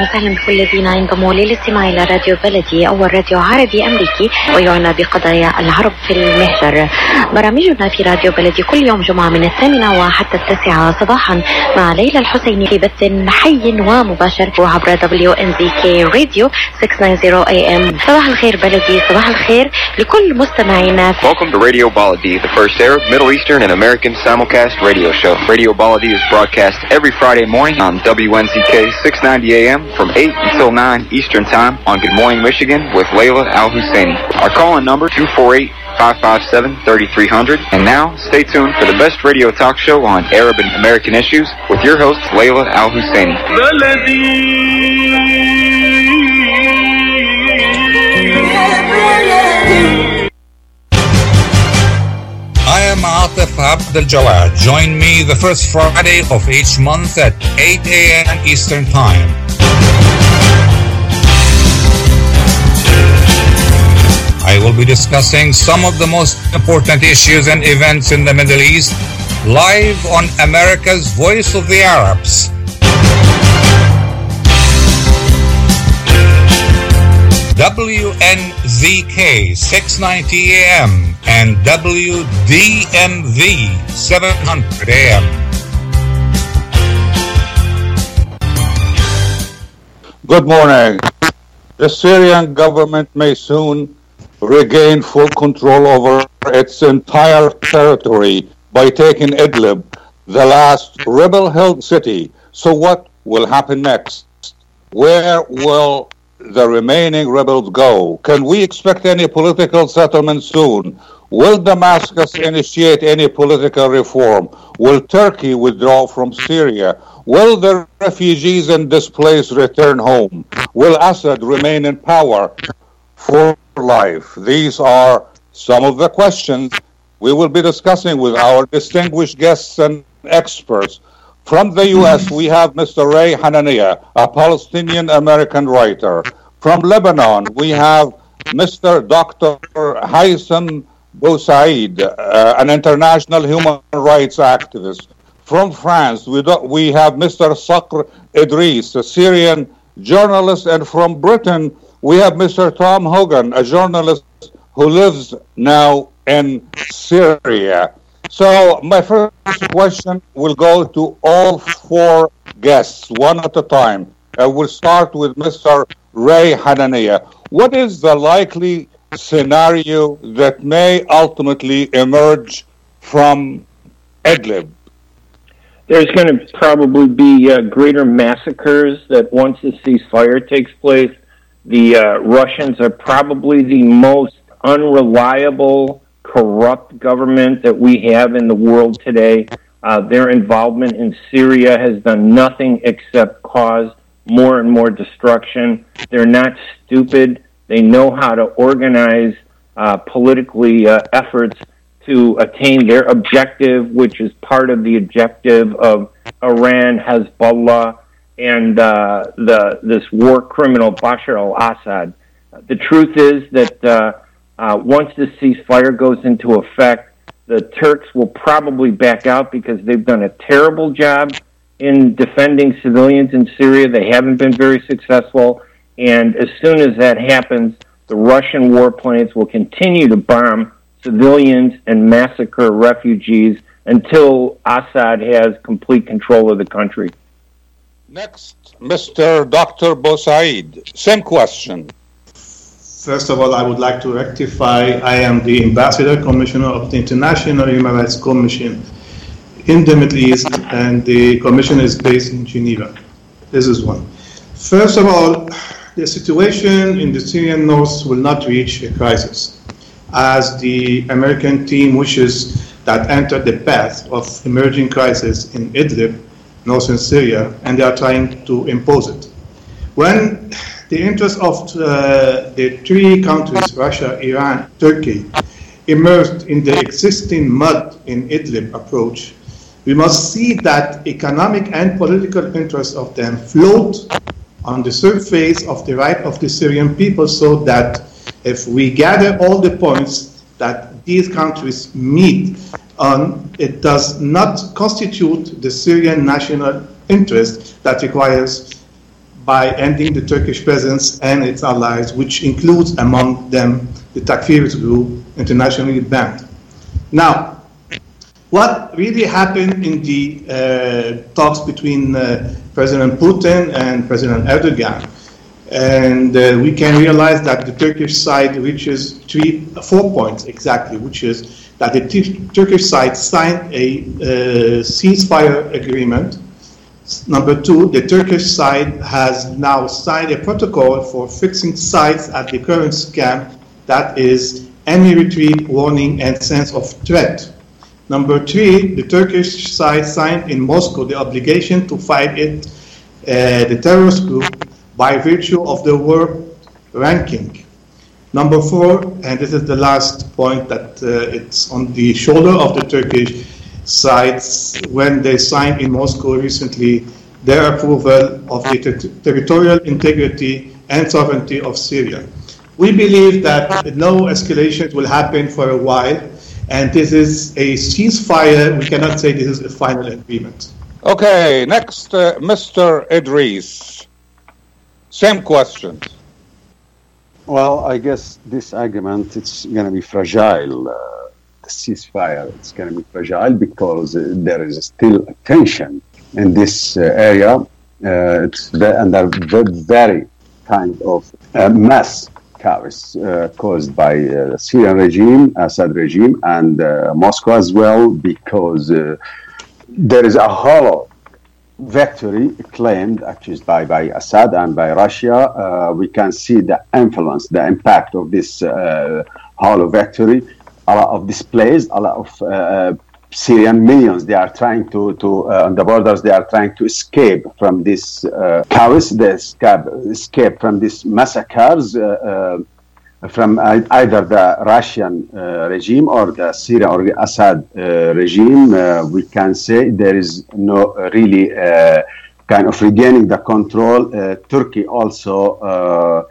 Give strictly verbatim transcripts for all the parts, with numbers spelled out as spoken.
وسهلا بكل الذين ينضموا للاستماع إلى راديو بلدي، أول راديو عربي أمريكي ويعنى بقضايا العرب في المهجر. برامجنا في راديو بلدي كل يوم جمعة من الثامنة وحتى التاسعة صباحا مع ليلى الحسيني في بث حي ومباشر عبر دبليو إن زي كي راديو ستمية وتسعين إيه إم. صباح الخير بلدي، صباح الخير لكل مستمعينا. Welcome to Radio Baladi, the first Arab, Middle Eastern, and American simulcast radio show. Radio Baladi is broadcast every Friday morning on W N Z K six ninety A M from eight until nine Eastern Time on Good Morning Michigan with Layla Al-Husseini. Our call-in number two four eight, five five seven, three three zero zero. And now, stay tuned for the best radio talk show on Arab and American issues with your host, Layla Al-Husseini. I am Atif Abdel Jawad. Join me the first Friday of each month at eight A M Eastern Time. I will be discussing some of the most important issues and events in the Middle East live on America's Voice of the Arabs. W N Z K six ninety A M and W D M V seven hundred A M. Good morning. The Syrian government may soon regain full control over its entire territory by taking Idlib, the last rebel-held city. So what will happen next? Where will the remaining rebels go? Can we expect any political settlement soon? Will Damascus initiate any political reform? Will Turkey withdraw from Syria? Will the refugees and displaced return home? Will Assad remain in power for life? These are some of the questions we will be discussing with our distinguished guests and experts. From the U S, we have Mister Ray Hanania, a Palestinian-American writer. From Lebanon, we have Mister Doctor Haitham Bousaid, uh, an international human rights activist. From France, we, do, we have Mister Sakr Idris, a Syrian journalist. And from Britain, we have Mister Tom Hogan, a journalist who lives now in Syria. So my first question will go to all four guests, one at a time. I will start with Mister Ray Hanania. What is the likely scenario that may ultimately emerge from Idlib? There's going to probably be uh, greater massacres that once the ceasefire takes place. The uh, Russians are probably the most unreliable, corrupt government that we have in the world today. Uh, their involvement in Syria has done nothing except cause more and more destruction. They're not stupid. They know how to organize uh, politically uh, efforts to attain their objective, which is part of the objective of Iran, Hezbollah, and uh, the this war criminal Bashar al-Assad. The truth is that uh, uh, once the ceasefire goes into effect, the Turks will probably back out because they've done a terrible job in defending civilians in Syria. They haven't been very successful. And as soon as that happens, the Russian warplanes will continue to bomb civilians and massacre refugees until Assad has complete control of the country. Next, Mister Doctor Bousaid, same question. First of all, I would like to rectify, I am the Ambassador Commissioner of the International Human Rights Commission in the Middle East, and the commission is based in Geneva. This is one. First of all, the situation in the Syrian north will not reach a crisis, as the American team wishes that enter the path of emerging crisis in Idlib, northern Syria, and they are trying to impose it. When the interest of uh, the three countries, Russia, Iran, Turkey, immersed in the existing mud in Idlib approach, we must see that economic and political interests of them float on the surface of the right of the Syrian people, so that if we gather all the points that these countries meet on, it does not constitute the Syrian national interest that requires by ending the Turkish presence and its allies, which includes among them the Takfirist group, internationally banned. Now, what really happened in the uh, talks between uh, President Putin and President Erdogan? And uh, we can realize that the Turkish side reaches three, four points exactly, which is that the t- Turkish side signed a uh, ceasefire agreement. Number two, the Turkish side has now signed a protocol for fixing sites at the current camp, that is any retreat, warning, and sense of threat. Number three, the Turkish side signed in Moscow the obligation to fight it, uh, the terrorist group, by virtue of the war ranking. Number four, and this is the last point, that uh, it's on the shoulder of the Turkish sides when they signed in Moscow recently their approval of the ter- territorial integrity and sovereignty of Syria. We believe that no escalation will happen for a while, and this is a ceasefire. We cannot say this is a final agreement. Okay, next, uh, Mister Idris. Same question. Well, I guess this agreement, it's going to be fragile. Uh, the ceasefire, it's going to be fragile because uh, there is still tension in this uh, area. Uh, it's ve- under very, very kind of uh, mass chaos uh, caused by uh, the Syrian regime, Assad regime, and uh, Moscow as well, because uh, there is a hollow victory claimed actually by, by Assad and by Russia. Uh, we can see the influence, the impact of this uh, hollow victory. A lot of displaced, a lot of uh, Syrian millions, they are trying to, to uh, on the borders, they are trying to escape from this uh, chaos, they escape, escape from these massacres, uh, uh, from either the Russian uh, regime or the Syrian or the Assad uh, regime. Uh, we can say there is no really uh, kind of regaining the control. Uh, Turkey also uh,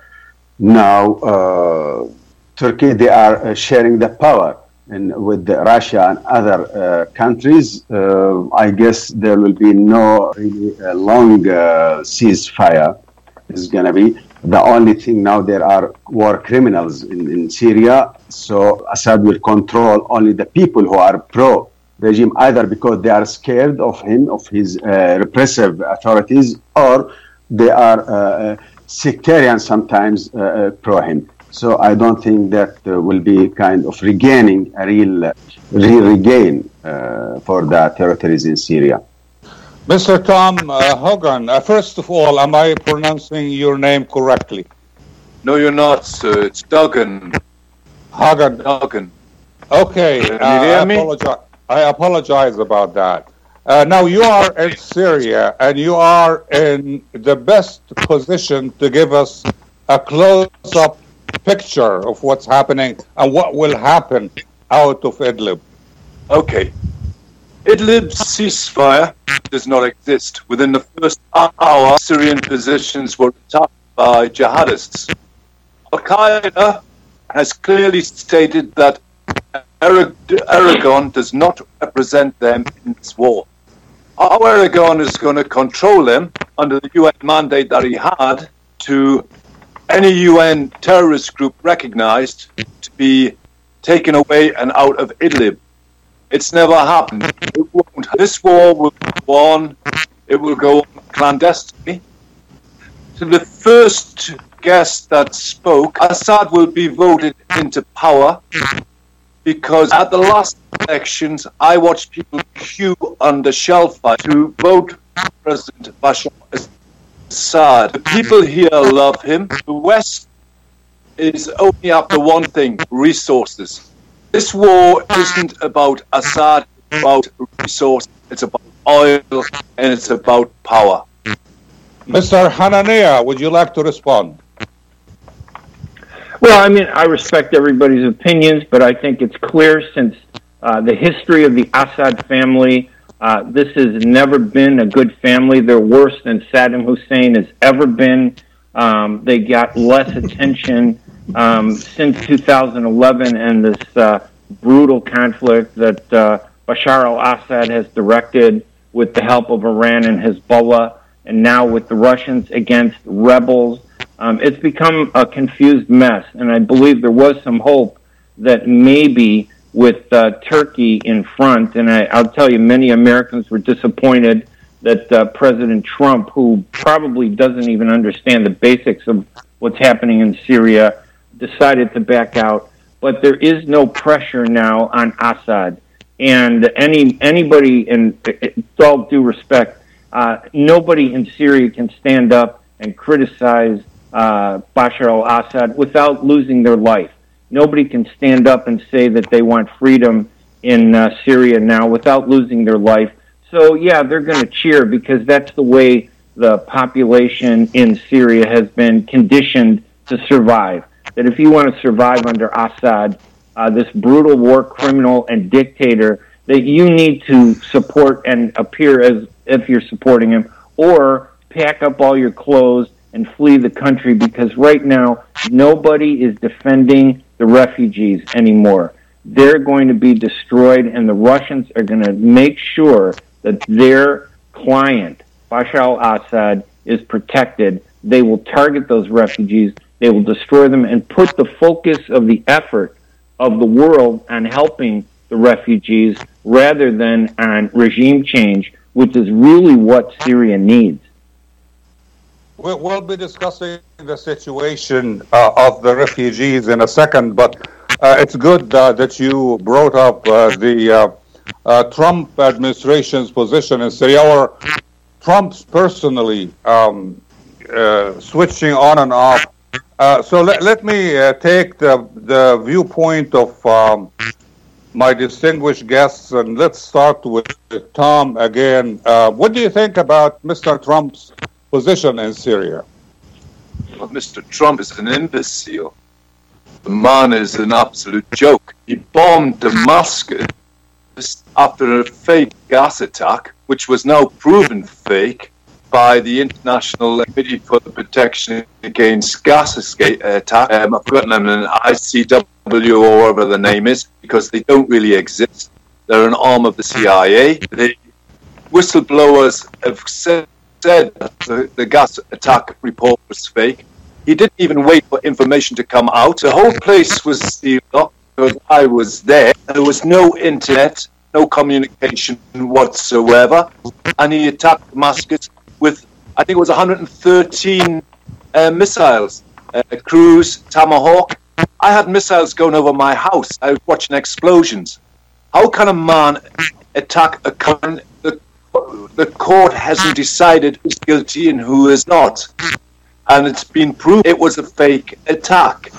now, uh, Turkey, they are uh, sharing the power in, with the Russia and other uh, countries. Uh, I guess there will be no really uh, long uh, ceasefire. It's going to be. The only thing now, there are war criminals in, in Syria, so Assad will control only the people who are pro-regime, either because they are scared of him, of his uh, repressive authorities, or they are uh, sectarian sometimes uh, pro-him. So I don't think that uh, will be kind of regaining a real, real regain uh, for the territories in Syria. Mister Tom uh, Hogan, uh, first of all, am I pronouncing your name correctly? No, you're not, sir. It's Duggan. Hogan. Duggan. Okay, Can uh, you hear I, me? apologize, I apologize about that. Uh, now, you are in Syria, and you are in the best position to give us a close-up picture of what's happening and what will happen out of Idlib. Okay. Idlib's ceasefire does not exist. Within the first hour, Syrian positions were attacked by jihadists. Al-Qaeda has clearly stated that Erdogan does not represent them in this war. How Erdogan is going to control them under the U N mandate that he had to any U N terrorist group recognized to be taken away and out of Idlib. It's never happened. It won't. This war will go on. It will go on clandestinely. To the first guest that spoke, Assad will be voted into power because at the last elections, I watched people queue under shellfire to vote for President Bashar Assad. The people here love him. The West is only after one thing: resources. This war isn't about Assad, it's about resources, it's about oil, and it's about power. Mister Hanania, would you like to respond? Well, I mean, I respect everybody's opinions, but I think it's clear since uh, the history of the Assad family, uh, this has never been a good family. They're worse than Saddam Hussein has ever been. Um, they got less attention um, since two thousand eleven and this uh, brutal conflict that uh, Bashar al-Assad has directed with the help of Iran and Hezbollah. and now with the Russians against rebels. Um, it's become a confused mess, and I believe there was some hope that maybe with uh, Turkey in front, and I, I'll tell you, many Americans were disappointed that uh, President Trump, who probably doesn't even understand the basics of what's happening in Syria, decided to back out. But there is no pressure now on Assad. And any anybody, in with all due respect, uh, nobody in Syria can stand up and criticize uh, Bashar al-Assad without losing their life. Nobody can stand up and say that they want freedom in uh, Syria now without losing their life. So, yeah, they're going to cheer because that's the way the population in Syria has been conditioned to survive. That if you want to survive under Assad, uh, this brutal war criminal and dictator, that you need to support and appear as if you're supporting him, or pack up all your clothes and flee the country, because right now nobody is defending the refugees anymore. They're going to be destroyed, and the Russians are going to make sure that their client, Bashar al-Assad, is protected. They will target those refugees, they will destroy them, and put the focus of the effort of the world on helping the refugees rather than on regime change, which is really what Syria needs. We'll, we'll be discussing the situation uh, of the refugees in a second, but uh, it's good uh, that you brought up uh, the uh, uh, Trump administration's position in Syria, or Trump's personally um, uh, switching on and off. Uh, so let, let me uh, take the, the viewpoint of um, my distinguished guests, and let's start with Tom again. Uh, what do you think about Mister Trump's position in Syria? Well, Mister Trump is an imbecile. The man is an absolute joke. He bombed Damascus after a fake gas attack, which was now proven fake by the International Committee for the Protection Against Gas Escape Attack. Um, I've forgotten them, an I C W or whatever the name is, because they don't really exist. They're an arm of the C I A. The whistleblowers have said said the, the gas attack report was fake. He didn't even wait for information to come out. The whole place was sealed up because I was there. There was no internet, no communication whatsoever. And he attacked Damascus with, I think it was one hundred thirteen uh, missiles. Uh, Cruise, Tomahawk. I had missiles going over my house. I was watching explosions. How can a man attack a country? The court hasn't decided who's guilty and who is not. And it's been proved it was a fake attack.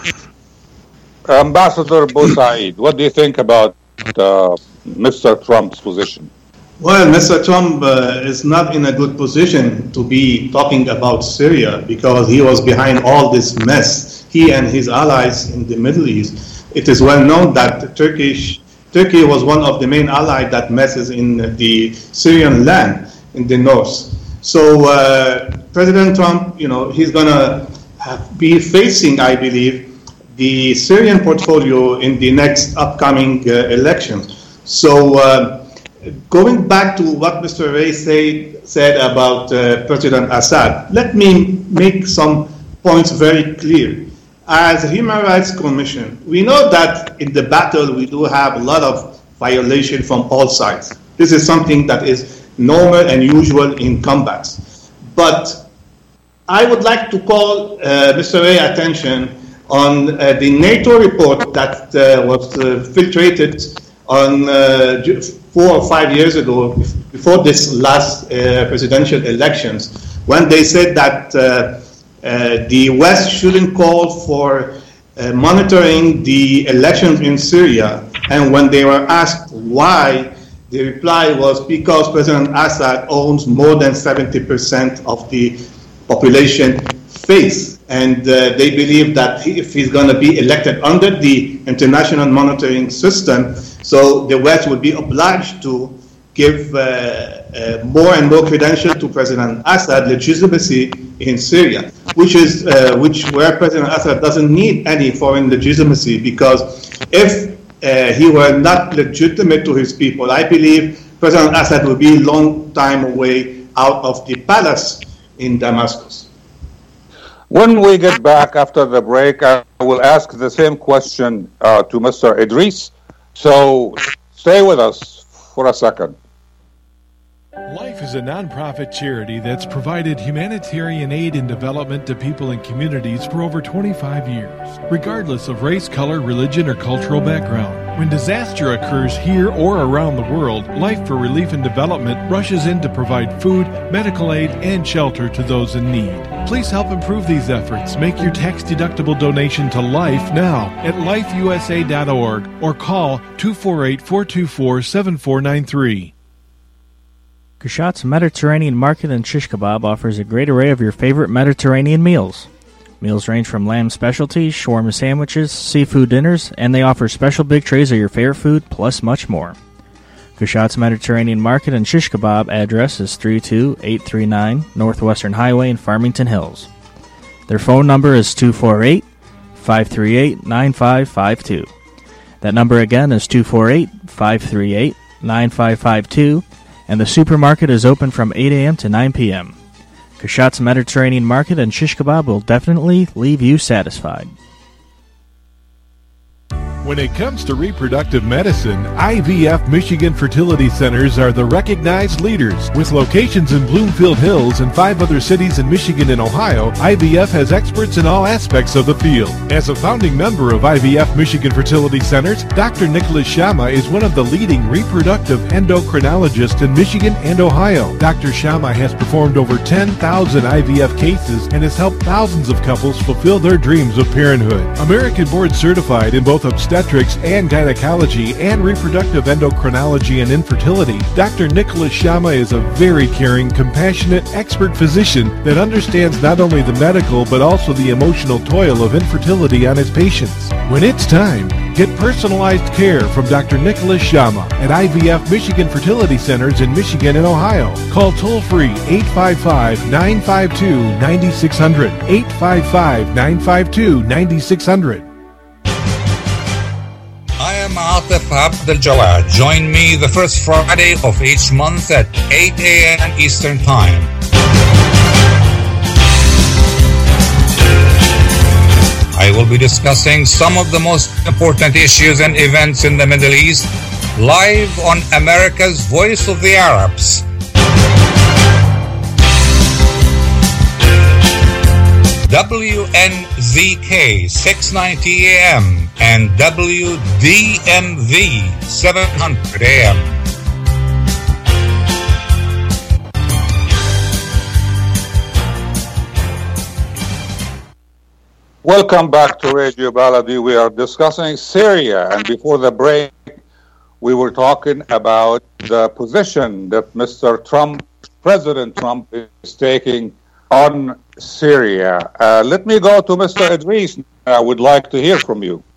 Ambassador Boussaid, what do you think about uh, Mister Trump's position? Well, Mister Trump uh, is not in a good position to be talking about Syria because he was behind all this mess. He and his allies in the Middle East. It is well known that Turkish Turkey was one of the main allies that messes in the Syrian land in the north. So uh, President Trump, you know, he's going to be facing, I believe, the Syrian portfolio in the next upcoming uh, elections. So uh, going back to what Mister Ray say, said about uh, President Assad, let me make some points very clear. As a Human Rights Commission, we know that in the battle we do have a lot of violation from all sides. This is something that is normal and usual in combats. But I would like to call uh, Mister Ray attention on uh, the NATO report that uh, was uh, filtrated on uh, four or five years ago, before this last uh, presidential elections, when they said that uh, Uh, the West shouldn't call for uh, monitoring the elections in Syria. And when they were asked why, the reply was because President Assad owns more than seventy percent of the population face. And uh, they believe that he, if he's going to be elected under the international monitoring system, so the West would be obliged to give uh, uh, more and more credentials to President Assad legitimacy in Syria, which is uh, which where President Assad doesn't need any foreign legitimacy, because if uh, he were not legitimate to his people, I believe President Assad would be a long time away out of the palace in Damascus. When we get back after the break, I will ask the same question uh, to Mister Idris. So stay with us for a second. Life is a nonprofit charity that's provided humanitarian aid and development to people and communities for over twenty-five years, regardless of race, color, religion, or cultural background. When disaster occurs here or around the world, Life for Relief and Development rushes in to provide food, medical aid, and shelter to those in need. Please help improve these efforts. Make your tax-deductible donation to Life now at life u s a dot org or call two four eight, four two four, seven four nine three. Kushat's Mediterranean Market and Shish Kebab offers a great array of your favorite Mediterranean meals. Meals range from lamb specialties, shawarma sandwiches, seafood dinners, and they offer special big trays of your favorite food, plus much more. Kushat's Mediterranean Market and Shish Kebab address is three two eight three nine Northwestern Highway in Farmington Hills. Their phone number is two four eight, five three eight, nine five five two. That number again is two four eight, five three eight, nine five five two. And the supermarket is open from eight a.m. to nine p.m. Kushat's Mediterranean Market and Shish Kebab will definitely leave you satisfied. When it comes to reproductive medicine, I V F Michigan Fertility Centers are the recognized leaders. With locations in Bloomfield Hills and five other cities in Michigan and Ohio, I V F has experts in all aspects of the field. As a founding member of I V F Michigan Fertility Centers, Doctor Nicholas Shama is one of the leading reproductive endocrinologists in Michigan and Ohio. Doctor Shama has performed over ten thousand I V F cases and has helped thousands of couples fulfill their dreams of parenthood. American board certified in both obstetrics and gynecology and reproductive endocrinology and infertility, Doctor Nicholas Shama is a very caring, compassionate, expert physician that understands not only the medical but also the emotional toil of infertility on his patients. When it's time, get personalized care from Doctor Nicholas Shama at I V F Michigan Fertility Centers in Michigan and Ohio. Call toll-free eight five five, nine five two, nine six zero zero, eight five five, nine five two, nine six zero zero. I am Atif Abdel Jawad. Join me the first Friday of each month at eight a.m. Eastern Time. I will be discussing some of the most important issues and events in the Middle East live on America's Voice of the Arabs. W N Z K six ninety A M and W D M V seven hundred A M. Welcome back to Radio Baladi. We are discussing Syria, and before the break, we were talking about the position that Mister Trump, President Trump, is taking on Syria. Uh, let me go to Mister Idris. I would like to hear from you.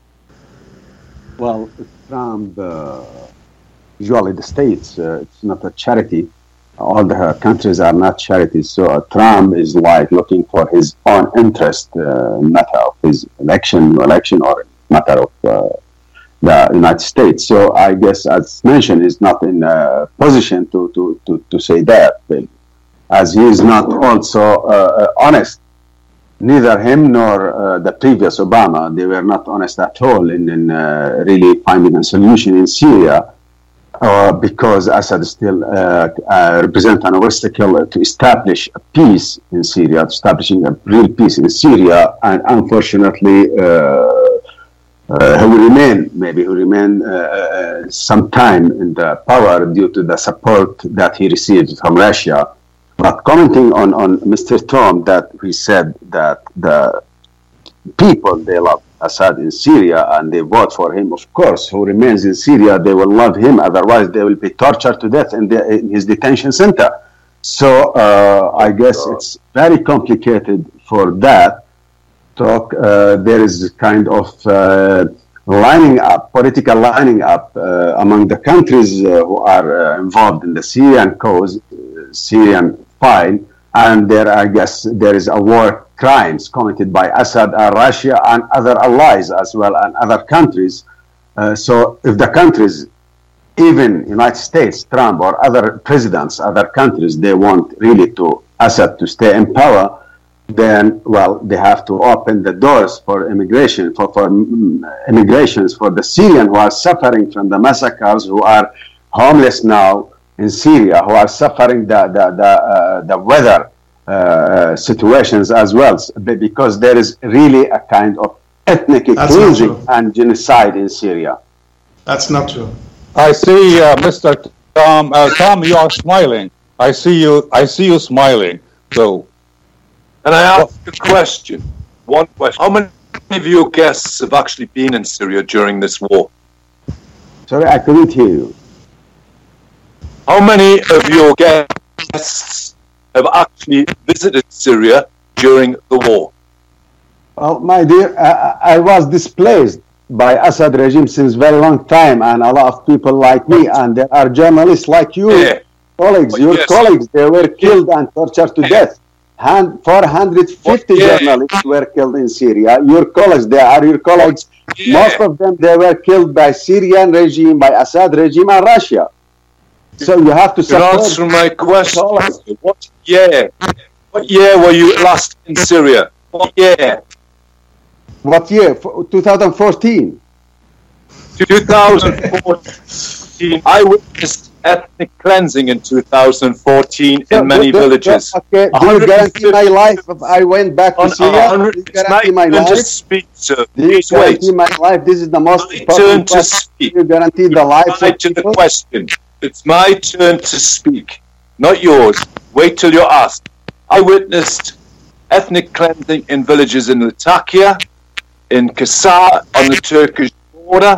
Well, Trump, uh, usually the states, uh, it's not a charity. All the countries are not charities. So uh, Trump is like looking for his own interest, uh, matter of his election, election or matter of uh, the United States. So I guess, as mentioned, he's not in a position to, to, to, to say that, as he is not also uh, honest. Neither him nor uh, the previous Obama, they were not honest at all in, in uh, really finding a solution in Syria, uh, because Assad still uh, uh, represents an obstacle to establish a peace in Syria, establishing a real peace in Syria, and unfortunately, uh, uh, he will remain, maybe he will remain uh, some time in the power due to the support that he received from Russia. But commenting on, on Mister Trump, that he said that the people, they love Assad in Syria and they vote for him, of course, who remains in Syria, they will love him, otherwise they will be tortured to death in, the, in his detention center. So uh, I guess it's very complicated for that talk. Uh, there is kind of uh, lining up, political lining up uh, among the countries uh, who are uh, involved in the Syrian cause, uh, Syrian file, and there, I guess, there is a war crimes committed by Assad and Russia and other allies as well and other countries. Uh, so if the countries even United States, Trump, or other presidents, other countries, they want really to Assad to stay in power, then, well, they have to open the doors for immigration, for, for immigrations for the Syrians who are suffering from the massacres, who are homeless now in Syria, who are suffering the, the, the, uh, the weather uh, situations as well, because there is really a kind of ethnic cleansing and genocide in Syria. That's not true. I see, uh, Mister Tom. Uh, Tom, you are smiling. I see you. I see you smiling. So, and I ask a question. One question: how many of your guests have actually been in Syria during this war? Sorry, I couldn't hear you. How many of your guests have actually visited Syria during the war? Well, my dear, I, I was displaced by Assad regime since very long time, and a lot of people like me, and there are journalists like you, yeah. colleagues, but your yes. colleagues, they were killed and tortured to yeah. death. four hundred fifty yeah. journalists were killed in Syria. Your colleagues, they are your colleagues. Yeah. Most of them, they were killed by Syrian regime, by Assad regime, and Russia. So you have to support. Answer my question. What year? What year were you last in Syria? What year? What year? twenty fourteen. twenty fourteen. I witnessed ethnic cleansing in two thousand fourteen in so, many the, the, villages. Okay. Do you guarantee my life if I went back to Syria? Do you guarantee my life? Speak, sir. Do you guarantee my life? This is the most my important turn to speak. Do you guarantee the life of to people? The question. It's my turn to speak, not yours. Wait till you're asked. I witnessed ethnic cleansing in villages in Latakia, in Kasar on the Turkish border.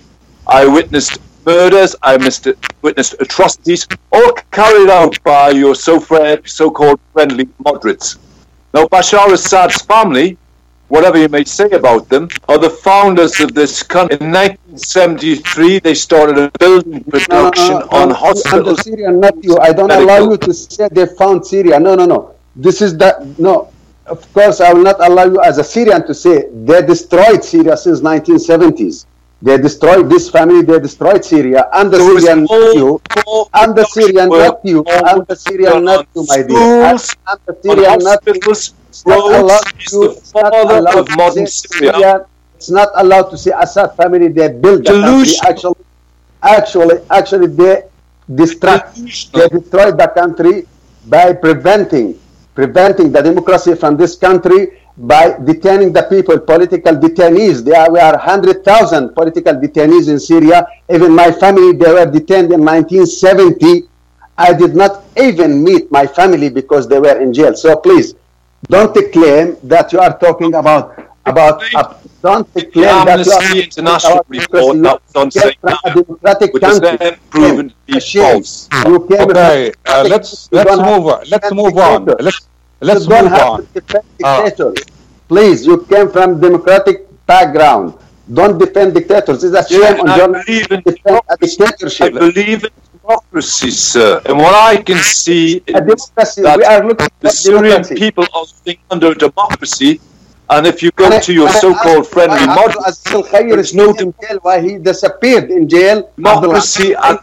I witnessed murders, I witnessed atrocities, all carried out by your so-called friendly moderates. Now, Bashar Assad's family, whatever you may say about them, are the founders of this country. In nineteen seventy-three, they started a building production no, no, no, on no, hospitals. The Syrian, not you. I don't medical. allow you to say they found Syria. No, no, no. This is that. No. Of course, I will not allow you as a Syrian to say they destroyed Syria since nineteen seventies. They destroyed this family, they destroyed Syria, and the there Syrian nephew, and the Syrian nephew, and the Syrian nephew, my dear, and, and the Syrian nephew. It's not allowed to, it's not allowed to say Syria. It's not allowed to say Assad family, they built the country. Actually, actually, actually, they destroyed, they destroyed the country by preventing preventing the democracy from this country by detaining the people, political detainees. There were one hundred thousand political detainees in Syria. Even my family, they were detained in nineteen seventy. I did not even meet my family because they were in jail. So please, don't claim that you are talking about, about uh, don't claim that you are International report that was on saying a democratic country. Proven to be false. You came okay, uh, let's let's move on. Let's move on. Let's let's you don't move have on. To defend dictators. Uh, Please, you came from democratic background. Don't defend dictators. It's a shame yeah, on journalists to defend a dictatorship. I believe in democracy, sir. And what I can see a is that we are looking the Syrian democracy. people are living under democracy. And if you go to your so-called friendly model, there's no democracy. Why he disappeared in jail? Democracy and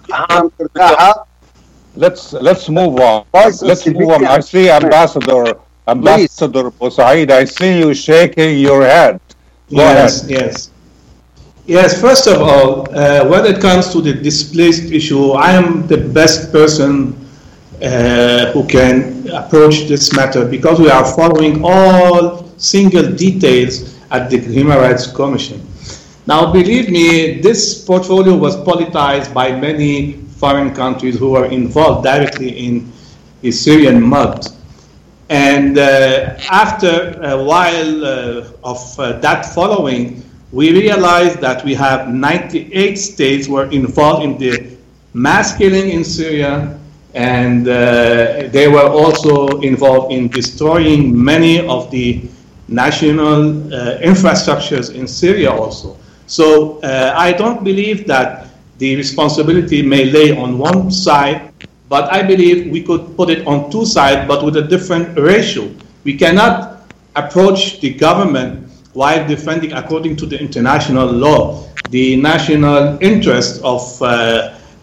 Let's let's move on. Let's move on. I see Ambassador Ambassador Bousaid. I see you shaking your head. Go yes, ahead. yes, yes. First of all, uh, when it comes to the displaced issue, I am the best person uh, who can approach this matter because we are following all single details at the Human Rights Commission. Now, believe me, this portfolio was politicized by many foreign countries who were involved directly in the Syrian mud. And uh, after a while uh, of uh, that following, we realized that we have ninety-eight states were involved in the mass killing in Syria, and uh, they were also involved in destroying many of the national uh, infrastructures in Syria also. So uh, I don't believe that the responsibility may lay on one side, but I believe we could put it on two sides, but with a different ratio. We cannot approach the government while defending, according to the international law, the national interest of uh,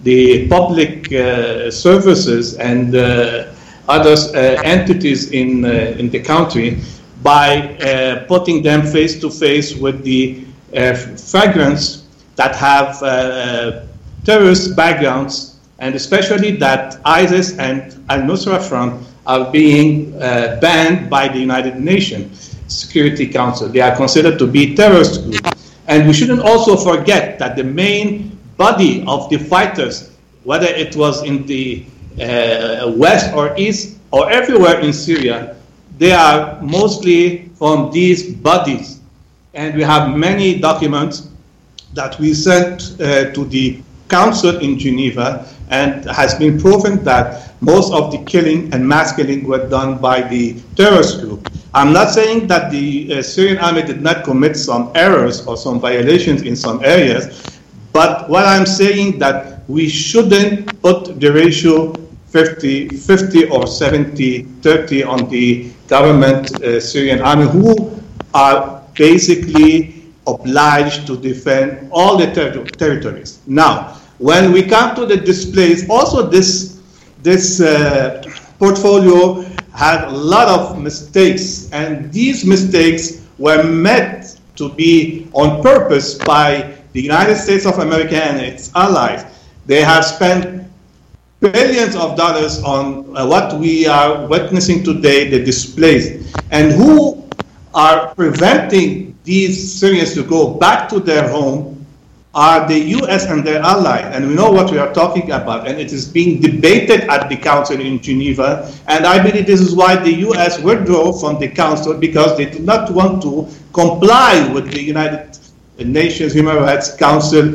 the public uh, services and uh, other uh, entities in, uh, in the country by uh, putting them face to face with the uh, flagrants that have uh, terrorist backgrounds, and especially that ISIS and Al-Nusra Front are being uh, banned by the United Nations Security Council. They are considered to be terrorist groups. And we shouldn't also forget that the main body of the fighters, whether it was in the uh, west or east or everywhere in Syria, they are mostly from these bodies. And we have many documents that we sent uh, to the Council in Geneva, and has been proven that most of the killing and mass killing were done by the terrorist group. I'm not saying that the uh, Syrian army did not commit some errors or some violations in some areas, but what I'm saying that we shouldn't put the ratio fifty fifty or seventy thirty on the government uh, Syrian army, who are basically obliged to defend all the ter- territories. Now, when we come to the displays, also this, this uh, portfolio had a lot of mistakes, and these mistakes were meant to be on purpose by the United States of America and its allies. They have spent billions of dollars on uh, what we are witnessing today, the displays. And who are preventing these Syrians to go back to their home are the U S and their allies. And we know what we are talking about, and it is being debated at the Council in Geneva. And I believe this is why the U S withdrew from the Council, because they do not want to comply with the United Nations Human Rights Council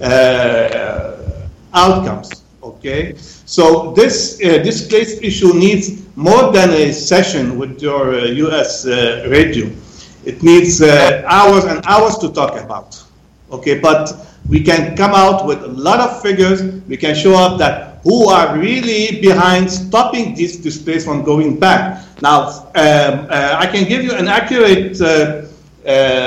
uh, outcomes. Okay, so this uh, displaced issue needs more than a session with your uh, U S uh, radio. It needs uh, hours and hours to talk about. Okay, but we can come out with a lot of figures. We can show up that who are really behind stopping this displays from going back. Now, um, uh, I can give you an accurate uh, uh,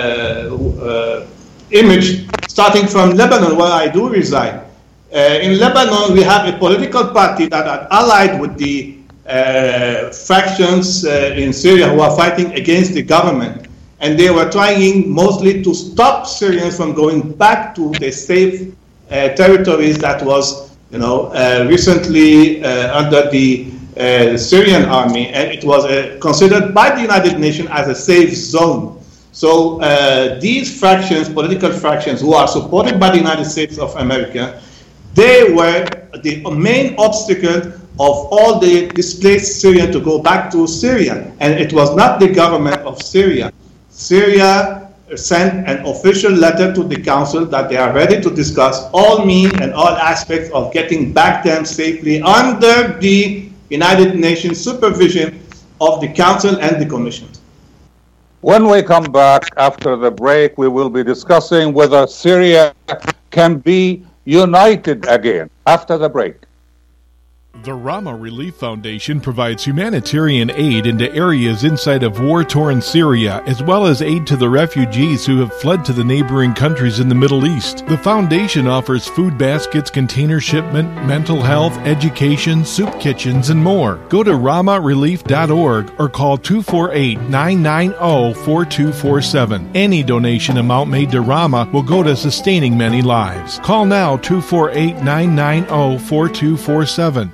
uh, image starting from Lebanon, where I do reside. Uh, in Lebanon, we have a political party that are allied with the uh, factions uh, in Syria who are fighting against the government. And they were trying mostly to stop Syrians from going back to the safe uh, territories that was, you know, uh, recently uh, under the uh, Syrian army, and it was uh, considered by the United Nations as a safe zone. So uh, these fractions, political fractions, who are supported by the United States of America, they were the main obstacle of all the displaced Syrians to go back to Syria, and it was not the government of Syria. Syria sent an official letter to the Council that they are ready to discuss all means and all aspects of getting back them safely under the United Nations supervision of the Council and the Commission. When we come back after the break, we will be discussing whether Syria can be united again. After the break. The Rama Relief Foundation provides humanitarian aid into areas inside of war-torn Syria, as well as aid to the refugees who have fled to the neighboring countries in the Middle East. The foundation offers food baskets, container shipment, mental health, education, soup kitchens, and more. Go to rama relief dot org or call two four eight, nine nine zero, four two four seven. Any donation amount made to Rama will go to sustaining many lives. Call now two four eight, nine nine zero, four two four seven.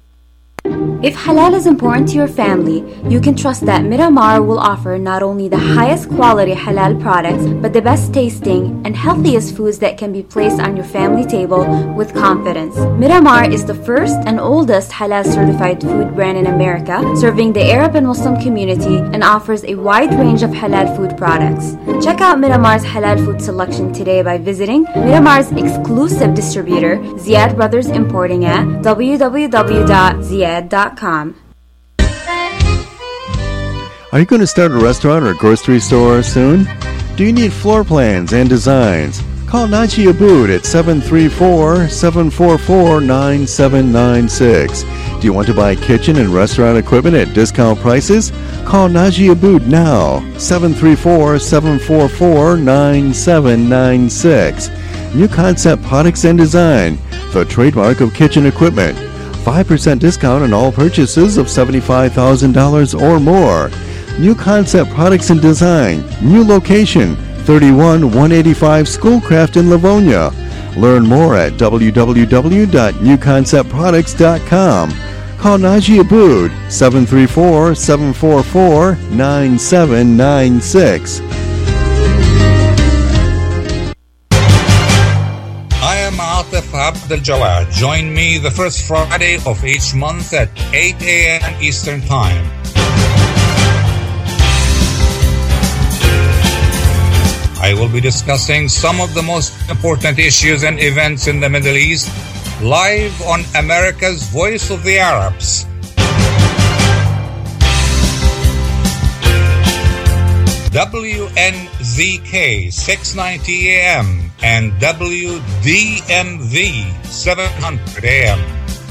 If halal is important to your family, you can trust that Miramar will offer not only the highest quality halal products, but the best tasting and healthiest foods that can be placed on your family table with confidence. Miramar is the first and oldest halal certified food brand in America, serving the Arab and Muslim community, and offers a wide range of halal food products. Check out Miramar's halal food selection today by visiting Miramar's exclusive distributor, Ziad Brothers Importing, at w w w dot ziad dot com. Are you going to start a restaurant or grocery store soon? Do you need floor plans and designs? Call Naji Abood at seven three four, seven four four, nine seven nine six. Do you want to buy kitchen and restaurant equipment at discount prices? Call Naji Abood now, seven three four, seven four four, nine seven nine six. New Concept Products and Design, the trademark of kitchen equipment. five percent discount on all purchases of seventy-five thousand dollars or more. New Concept Products and Design. New location, thirty-one one eighty-five Schoolcraft in Livonia. Learn more at w w w dot new concept products dot com. Call Najee Abood, seven three four, seven four four, nine seven nine six. I am Atif Abdel Jawad. Join me the first Friday of each month at eight a.m. Eastern Time. I will be discussing some of the most important issues and events in the Middle East live on America's Voice of the Arabs. W N Z K six ninety A M and W D M V seven hundred A M.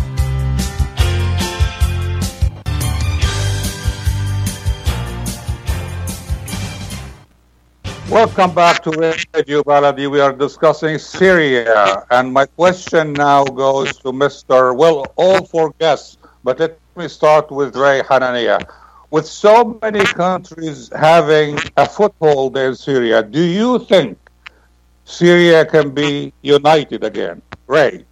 Welcome back to Radio Baladi. We are discussing Syria, and my question now goes to Mister Well, all four guests, but let me start with Ray Hanania. With so many countries having a foothold in Syria, do you think Syria can be united again? Ray?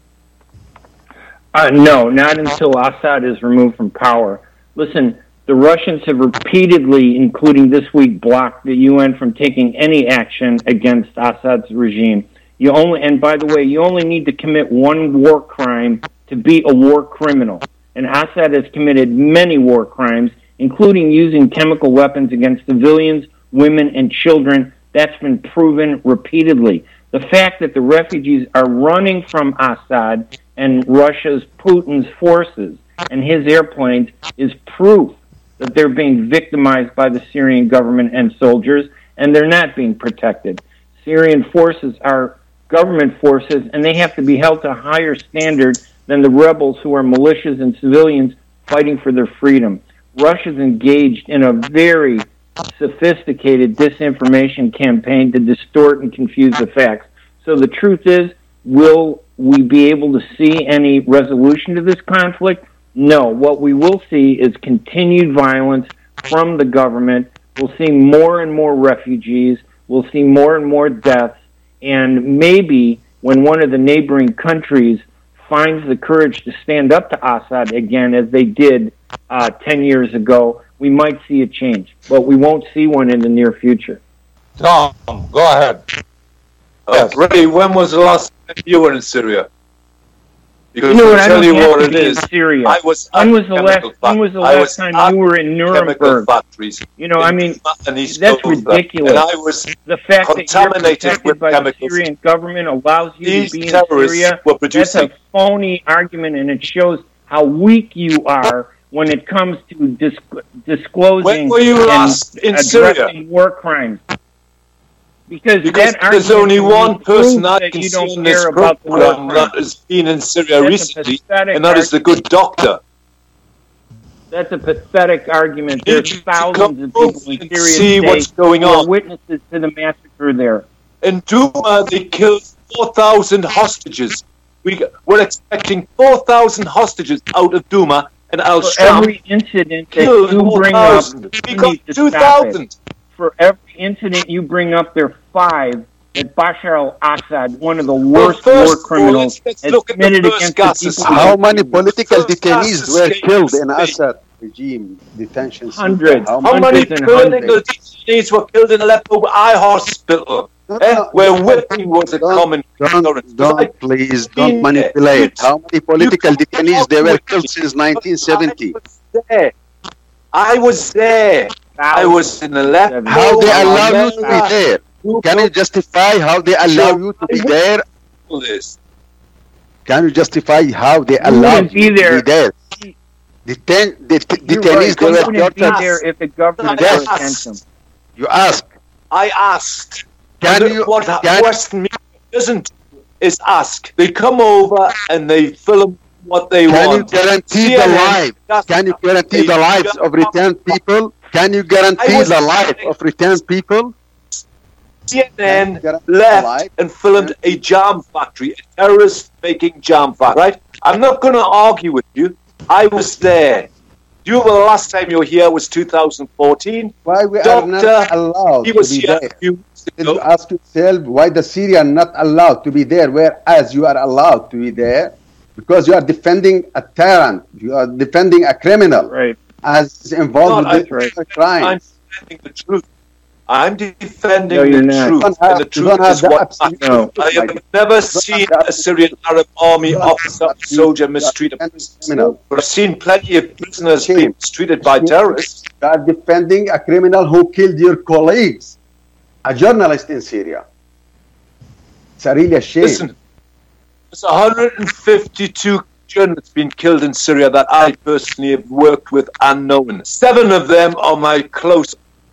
Uh, no, not until Assad is removed from power. Listen, the Russians have repeatedly, including this week, blocked the U N from taking any action against Assad's regime. You only, and by the way, you only need to commit one war crime to be a war criminal. And Assad has committed many war crimes, including using chemical weapons against civilians, women, and children. That's been proven repeatedly. The fact that the refugees are running from Assad and Russia's Putin's forces and his airplanes is proof that they're being victimized by the Syrian government and soldiers, and they're not being protected. Syrian forces are government forces, and they have to be held to a higher standard than the rebels who are militias and civilians fighting for their freedom. Russia's engaged in a very sophisticated disinformation campaign to distort and confuse the facts. So the truth is, will we be able to see any resolution to this conflict? No. What we will see is continued violence from the government. We'll see more and more refugees. We'll see more and more deaths. And maybe when one of the neighboring countries finds the courage to stand up to Assad again, as they did uh, ten years ago, we might see a change. But we won't see one in the near future. Tom, go ahead. Uh, yes. Ray, when was the last time you were in Syria? Because you know what, I'll tell I you don't what have it to be is. in Syria. I was when was the last, when was the last was time you were in Nuremberg? Factories you know, I mean, that's ridiculous. And I was the fact that you're protected by chemicals. the Syrian government allows you These to be in terrorists Syria. were producing. That's a phony argument, and it shows how weak you are when it comes to dis- disclosing when were you last and in Syria? addressing war crimes. Because, because that there's only one person I that can you see don't in this care about the war program that crimes. has been in Syria That's recently, and that is the good doctor. That's a pathetic argument. There's thousands of people in Syria see today what's going who are on. witnesses to the massacre there. In Douma, they killed four thousand hostages. We, we're expecting four thousand hostages out of Douma, and Al For Sham every incident that killed you bring up, We you got need to two stop it. thousand. For every incident you bring up, there are five that Bashar al-Assad, one of the worst Well, war first, criminals, let's has look at the committed first against gas the people. escape. How many political First detainees gas were escape killed in escape. Assad regime detention center? Hundreds. How How many? many Hundreds and political hundreds. detainees were killed in Aleppo Eye Hospital, No, eh, no, where no, whipping was a don't- common Don't, occurrence? don't please, don't been manipulate. there. How many political You- detainees they were you- killed since nineteen seventy? I was there. I was there. I was in Aleppo. How they I allow you was to be there? You Can you justify how they allow you to be there? know this. Can you justify how they You allow wouldn't be you to there. be there? Detain, det- You're detainees, right. they You were wouldn't be tortured. there if the government Yes. were against them. You ask, I asked. can And you, what can, Western media doesn't is ask. They come over and they film what they can you want. guarantee C N N the life? doesn't- Can you guarantee the They lives just- of returned people? Can you guarantee I was- the life of returned people? C N N left and filmed a jam factory, a terrorist-making jam factory, right? I'm not going to argue with you. I was there. Do you remember the last time you were here was two thousand fourteen? Why we Doctor, are not allowed he was to be here there? a few weeks Did ago. you ask yourself why the Syrian not allowed to be there, whereas you are allowed to be there? Because you are defending a tyrant. You are defending a criminal. Right. As involved No, with I- the crimes. I'm defending the truth. I'm defending No, you're the not. truth. You don't have- and the you truth don't have is the what absolute matters. truth, I have Mike. never don't have seen the a Syrian Arab army don't have officer the or soldier absolute- mistreat a you are person. criminal. But I've seen plenty of prisoners Shame. being mistreated by terrorists. You are defending a criminal who killed your colleagues, a journalist in Syria. It's a really a shame. Listen, there's one hundred fifty-two journalists been killed in Syria that I personally have worked with and known. Seven of them are my close.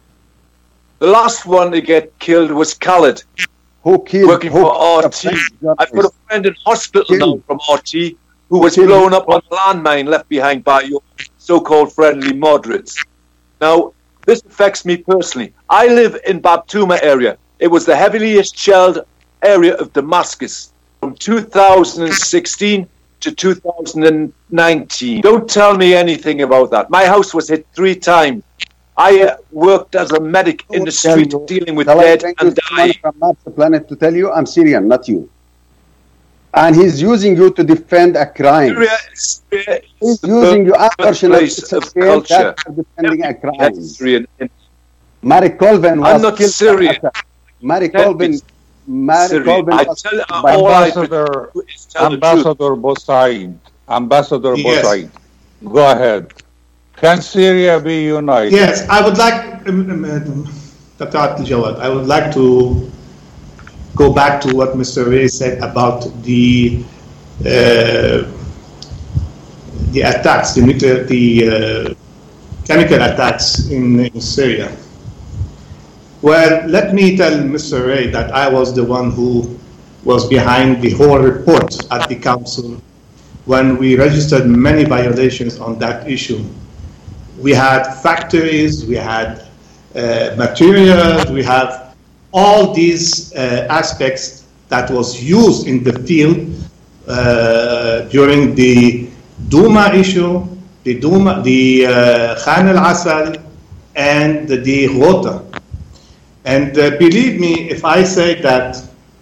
The last one to get killed was Khalid, Who killed? working who for killed R a T. French I've got a journalist? friend in hospital now Killed. from R T who was Killed. blown up on a landmine left behind by your so-called friendly moderates. Now, this affects me personally. I live in Babtuma area. It was the heaviest shelled area of Damascus from two thousand sixteen to two thousand nineteen. Don't tell me anything about that. My house was hit three times. I uh, worked as a medic in the Tell street you- dealing with Shall I dead bring and you someone dying. from Mars planet to tell you I'm Syrian, not you. And he's using you to defend a crime. Syria, Syria He's is the using you. Unfortunately, birthplace it's a of shame culture. that you're defending a crime. Yes, Syrian. Mary Colvin was I'm not killed Syrian. by Assad. Mary Tell Colvin, me, Mary Syrian. Colvin I was tell killed uh, by all I Ambassador, do is tell the truth. Ambassador Bosaid, Ambassador Yes. Bosaid, go ahead. Can Syria be united? Yes, I would like, um, um, um, Doctor Abdel Jawad, I would like to go back to what Mister Ray said about the uh, the attacks, the nuclear, the uh, chemical attacks in, in Syria. Well, let me tell Mister Ray that I was the one who was behind the whole report at the council when we registered many violations on that issue. We had factories, we had uh, materials, we have all these uh, aspects that was used in the field uh, during the Duma issue, the Duma, the uh, Khan al-Asal, and the, the Ghouta. And uh, believe me, if I say that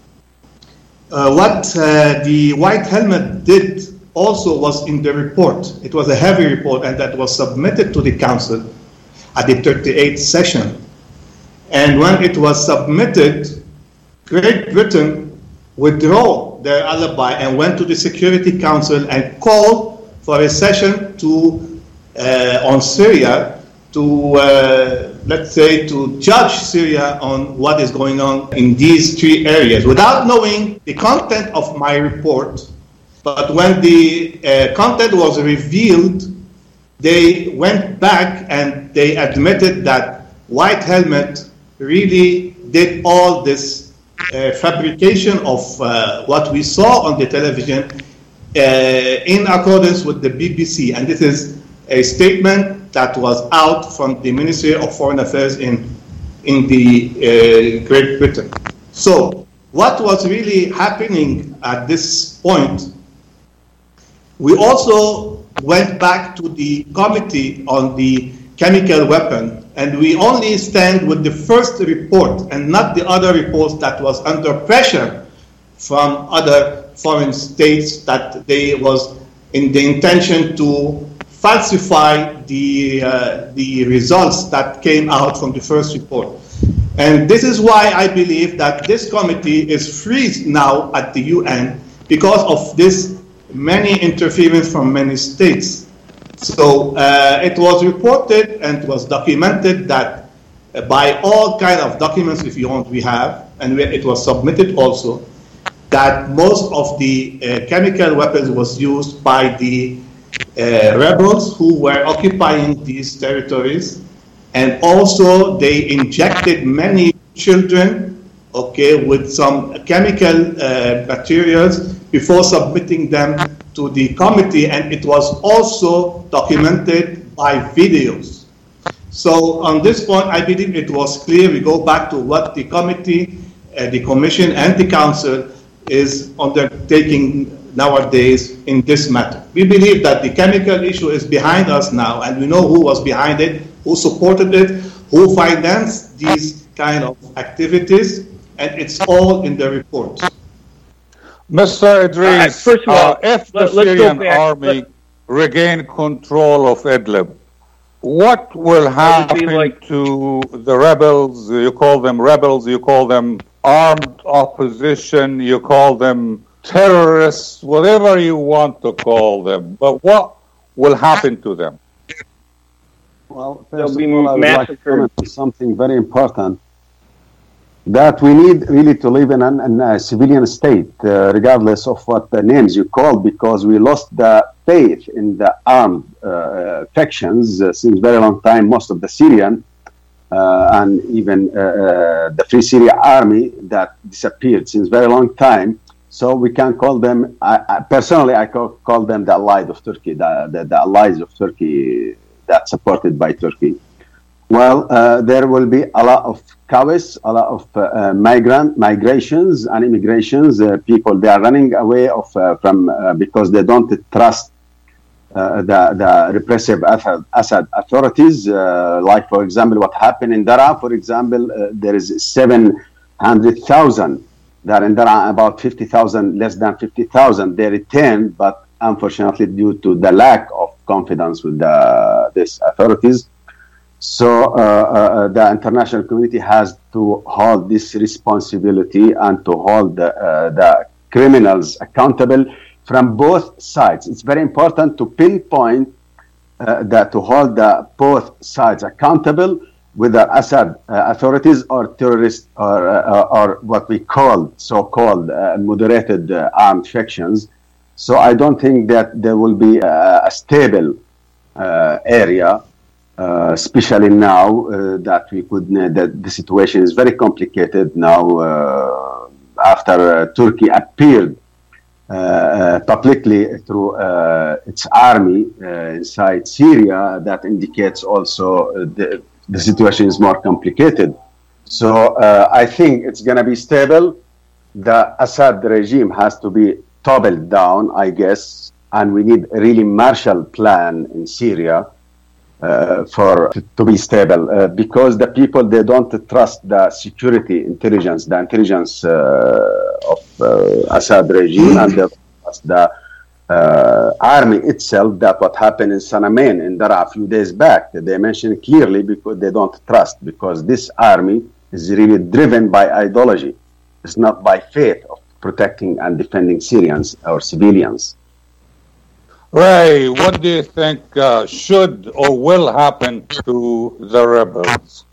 uh, what uh, the White Helmet did also was in the report. It was a heavy report, and that was submitted to the council at the thirty-eighth session. And when it was submitted, Great Britain withdrew their alibi and went to the Security Council and called for a session to uh, on Syria to, uh, let's say, to judge Syria on what is going on in these three areas without knowing the content of my report. But when the uh, content was revealed, they went back and they admitted that White Helmet really did all this uh, fabrication of uh, what we saw on the television uh, in accordance with the B B C. And this is a statement that was out from the Ministry of Foreign Affairs in, in the uh, Great Britain. So what was really happening at this point, we also went back to the committee on the chemical weapon, and we only stand with the first report and not the other reports that was under pressure from other foreign states that they was in the intention to falsify the, uh, the results that came out from the first report. And this is why I believe that this committee is freed now at the U N because of this many interference from many states. So uh, it was reported and it was documented that uh, by all kind of documents, if you want, we have, and we, it was submitted also, that most of the uh, chemical weapons was used by the uh, rebels who were occupying these territories, and also they injected many children, okay, with some chemical uh, materials before submitting them to the committee, and it was also documented by videos. So on this point, I believe it was clear. We go back to what the committee uh, the Commission and the Council is undertaking nowadays in this matter. We believe that the chemical issue is behind us now, and we know who was behind it, who supported it, who financed these kind of activities, and it's all in the report. Mister Idris, right, first of all, uh, if the let, Syrian army let, regain control of Idlib, what will happen like, to the rebels? You call them rebels, you call them armed opposition, you call them terrorists, whatever you want to call them. But what will happen to them? Well, first of all, I would like to comment on something very important, that we need really to live in an, in a civilian state, uh, regardless of what the names you call, because we lost the faith in the armed uh, factions uh, since very long time. Most of the Syrian uh, and even uh, uh, the Free Syria Army that disappeared since very long time. So we can call them, I, I, personally, I call, call them the allies of Turkey, the, the, the allies of Turkey that's supported by Turkey. Well, uh, there will be a lot of chaos, a lot of uh, migrant migrations and immigrations. Uh, people they are running away of uh, from uh, because they don't trust uh, the the repressive Assad, Assad authorities. Uh, like for example, what happened in Daraa. For example, uh, there is seven hundred thousand. That in Daraa, about fifty thousand, less than fifty thousand. They returned, but unfortunately, due to the lack of confidence with the these authorities. So uh, uh, the international community has to hold this responsibility and to hold the, uh, the criminals accountable from both sides. It's very important to pinpoint uh, that to hold the both sides accountable, whether Assad uh, authorities or terrorists or, uh, or what we call so-called uh, moderated uh, armed factions. So I don't think that there will be a, a stable uh, area. Uh, especially now uh, that we could uh, that the situation is very complicated now uh, after uh, Turkey appeared uh, uh, publicly through uh, its army uh, inside Syria. That indicates also uh, the, the situation is more complicated. So uh, I think it's going to be stable. The Assad regime has to be toppled down, I guess, and we need a really Marshall Plan in Syria. Uh, for to, to be stable, uh, because the people they don't trust the security intelligence, the intelligence uh, of uh, Assad regime, and they don't trust the uh, army itself. That what happened in Sanamen in Daraa a few days back. They mentioned clearly because they don't trust, because this army is really driven by ideology. It's not by faith of protecting and defending Syrians or civilians. Ray, what do you think uh, should or will happen to the rebels?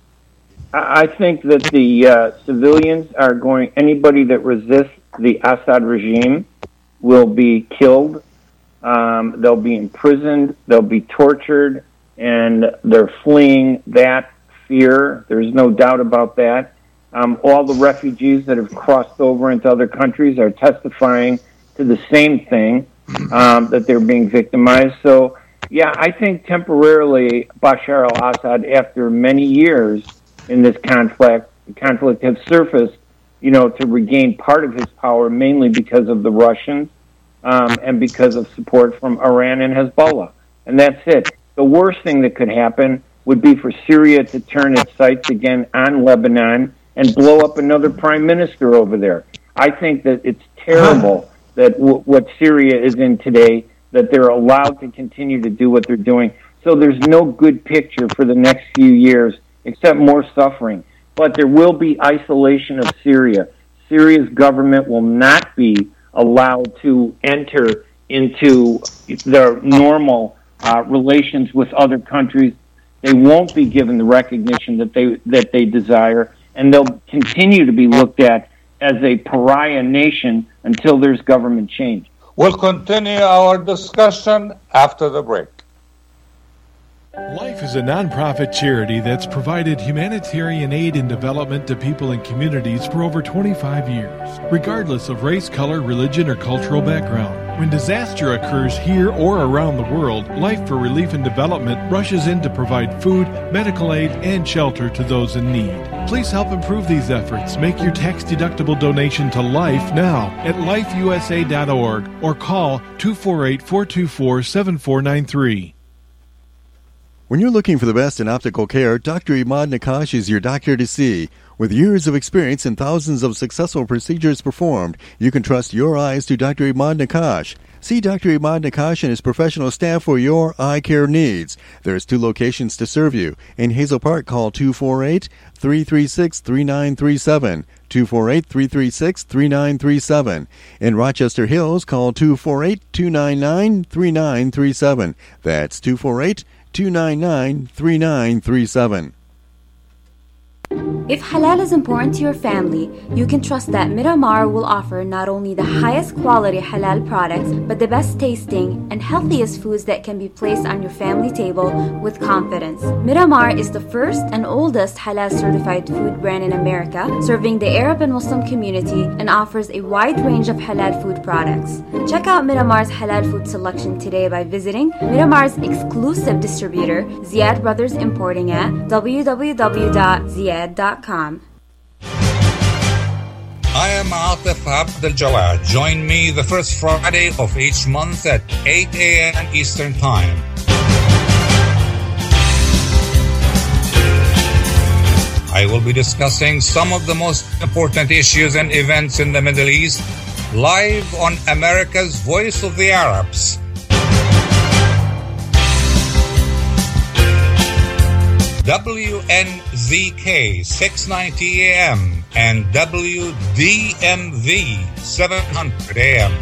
I think that the uh, civilians are going, anybody that resists the Assad regime will be killed. Um, they'll be imprisoned, they'll be tortured, and they're fleeing that fear. There's no doubt about that. Um, all the refugees that have crossed over into other countries are testifying to the same thing. Um, that they're being victimized. So, yeah, I think temporarily Bashar al-Assad, after many years in this conflict, conflict has surfaced, you know, to regain part of his power, mainly because of the Russians um, and because of support from Iran and Hezbollah. And that's it. The worst thing that could happen would be for Syria to turn its sights again on Lebanon and blow up another prime minister over there. I think that it's terrible that w- what Syria is in today, that they're allowed to continue to do what they're doing. So there's no good picture for the next few years, except more suffering. But there will be isolation of Syria. Syria's government will not be allowed to enter into their normal uh, relations with other countries. They won't be given the recognition that they that they desire, and they'll continue to be looked at as a pariah nation until there's government change. We'll continue our discussion after the break. Life is a nonprofit charity that's provided humanitarian aid and development to people and communities for over twenty-five years, regardless of race, color, religion, or cultural background. When disaster occurs here or around the world, Life for Relief and Development rushes in to provide food, medical aid, and shelter to those in need. Please help improve these efforts. Make your tax-deductible donation to LIFE now at life u s a dot org or call two four eight, four two four, seven four nine three. When you're looking for the best in optical care, Doctor Imad Nakash is your doctor to see. With years of experience and thousands of successful procedures performed, you can trust your eyes to Doctor Imad Nakash. See Doctor Imad Nakash and his professional staff for your eye care needs. There's two locations to serve you. In Hazel Park, call two four eight, three three six, three nine three seven, two four eight, three three six, three nine three seven. In Rochester Hills, call two four eight, two nine nine, three nine three seven. That's two four eight, two nine nine, three nine three seven. If halal is important to your family, you can trust that Miramar will offer not only the highest quality halal products, but the best tasting and healthiest foods that can be placed on your family table with confidence. Miramar is the first and oldest halal certified food brand in America, serving the Arab and Muslim community, and offers a wide range of halal food products. Check out Miramar's halal food selection today by visiting Miramar's exclusive distributor, Ziad Brothers Importing, at w w w dot ziad dot com. I am Atif Abdel Jawad. Join me the first Friday of each month at eight a.m. Eastern Time. I will be discussing some of the most important issues and events in the Middle East live on America's Voice of the Arabs. W N Z K six ninety A M and W D M V seven hundred A M.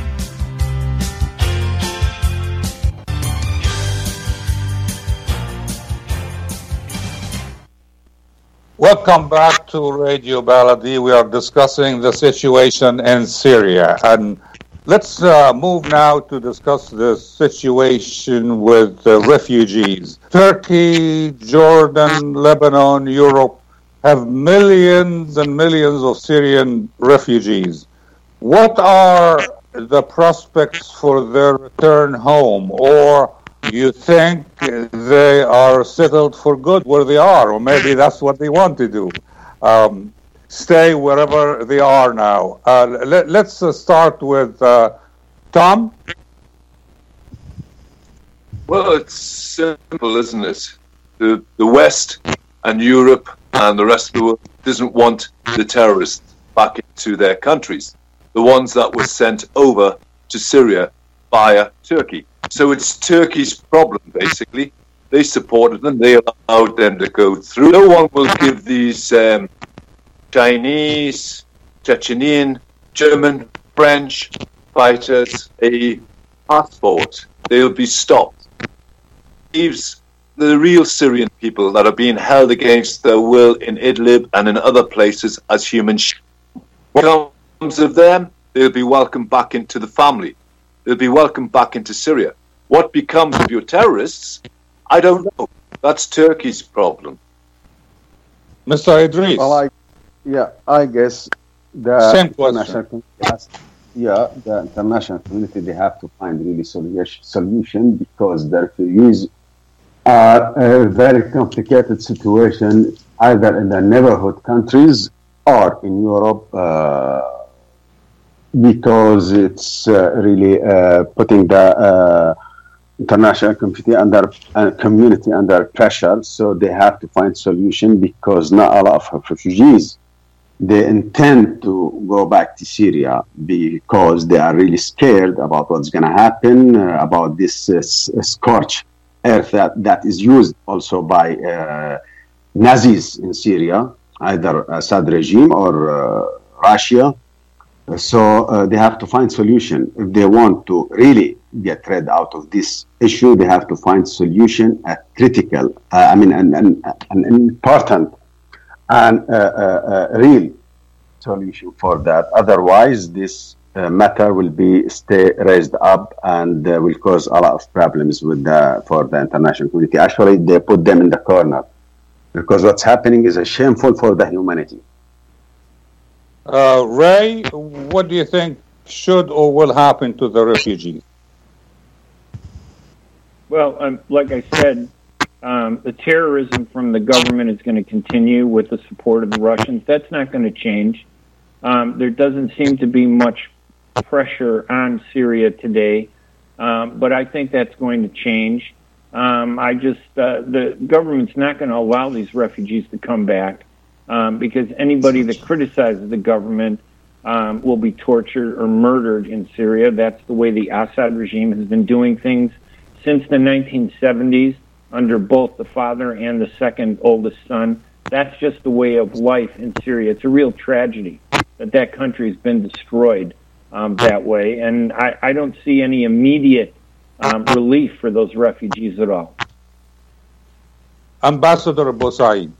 Welcome back to Radio Baladi. We are discussing the situation in Syria. And let's uh, move now to discuss the situation with uh, refugees. Turkey, Jordan, Lebanon, Europe have millions and millions of Syrian refugees. What are the prospects for their return home? Or you think they are settled for good where they are? Or maybe that's what they want to do. Um, stay wherever they are now. Uh, let, let's uh, start with uh, Tom. Well, it's simple, isn't it? The, the West and Europe and the rest of the world doesn't want the terrorists back into their countries, the ones that were sent over to Syria via Turkey. So it's Turkey's problem, basically. They supported them. They allowed them to go through. No one will give these um, Chinese, Chechenian, German, French fighters a passport. They'll be stopped. Leaves the real Syrian people that are being held against their will in Idlib and in other places as human sh- What comes of them? They'll be welcomed back into the family. They'll be welcomed back into Syria. What becomes of your terrorists? I don't know. That's Turkey's problem. Mister Idris. Well, I, yeah, I guess the Same international community, yeah, the international community, they have to find really solution because the refugees are a very complicated situation, either in the neighborhood countries or in Europe, uh, because it's uh, really uh, putting the uh, international community under uh, community under pressure. So they have to find solution because not a lot of refugees they intend to go back to Syria because they are really scared about what's going to happen, uh, about this uh, scorched earth that, that is used also by uh, Nazis in Syria, either Assad regime or uh, Russia. So uh, they have to find solution. If they want to really get rid out of this issue, they have to find solution, a critical, uh, I mean, an, an, an important and uh, uh, uh, real solution for that. Otherwise, this uh, matter will be stay raised up and uh, will cause a lot of problems with the, for the international community. Actually, they put them in the corner because what's happening is a shameful for the humanity. Uh, Ray, what do you think should or will happen to the refugees? Well, um, like I said, Um, the terrorism from the government is going to continue with the support of the Russians. That's not going to change. Um, there doesn't seem to be much pressure on Syria today, um, but I think that's going to change. Um, I just uh, the government's not going to allow these refugees to come back um, because anybody that criticizes the government um, will be tortured or murdered in Syria. That's the way the Assad regime has been doing things since the nineteen seventies. Under both the father and the second oldest son. That's just the way of life in Syria. It's a real tragedy that that country has been destroyed um, that way, and I, I don't see any immediate um, relief for those refugees at all. Ambassador Bosaid.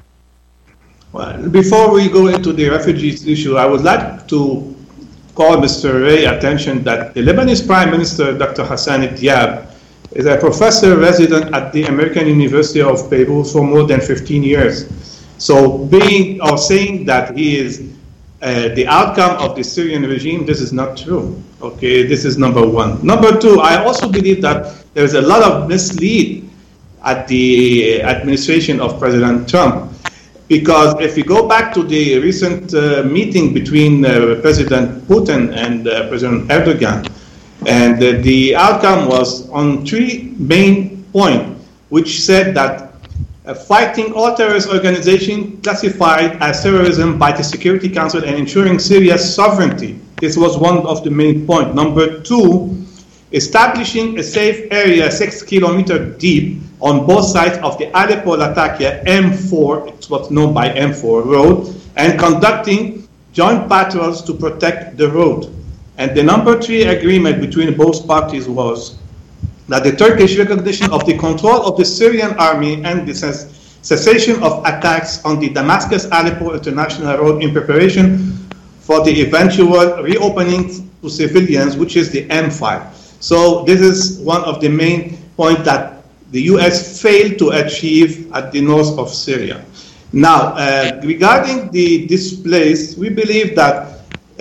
Well, before we go into the refugees issue, I would like to call Mister Ray attention that the Lebanese Prime Minister, Doctor Hassan Diab, is a professor resident at the American University of Beirut for more than fifteen years. So being or saying that he is uh, the outcome of the Syrian regime, this is not true. Okay, this is number one. Number two, I also believe that there's a lot of mislead at the administration of President Trump. Because if you go back to the recent uh, meeting between uh, President Putin and uh, President Erdogan, and uh, the outcome was on three main points, which said that uh, fighting all terrorist organizations classified as terrorism by the Security Council and ensuring Syria's sovereignty. This was one of the main points. Number two, establishing a safe area six kilometers deep on both sides of the Aleppo-Latakia M four, it's what's known by M four road, and conducting joint patrols to protect the road. And the number three agreement between both parties was that the Turkish recognition of the control of the Syrian army and the cessation of attacks on the Damascus-Aleppo International Road in preparation for the eventual reopening to civilians, which is the M five. So this is one of the main points that the U S failed to achieve at the north of Syria. Now, uh, regarding the displaced, we believe that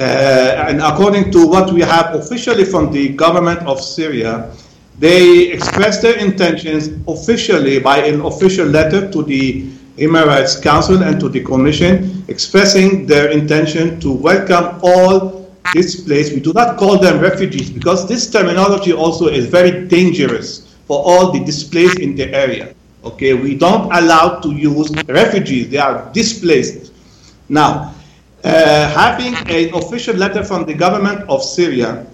Uh, and according to what we have officially from the government of Syria, they expressed their intentions officially by an official letter to the Human Rights Council and to the Commission, expressing their intention to welcome all displaced. We do not call them refugees because this terminology also is very dangerous for all the displaced in the area. Okay, we don't allow to use refugees, they are displaced. Now, Uh, having an official letter from the government of Syria uh,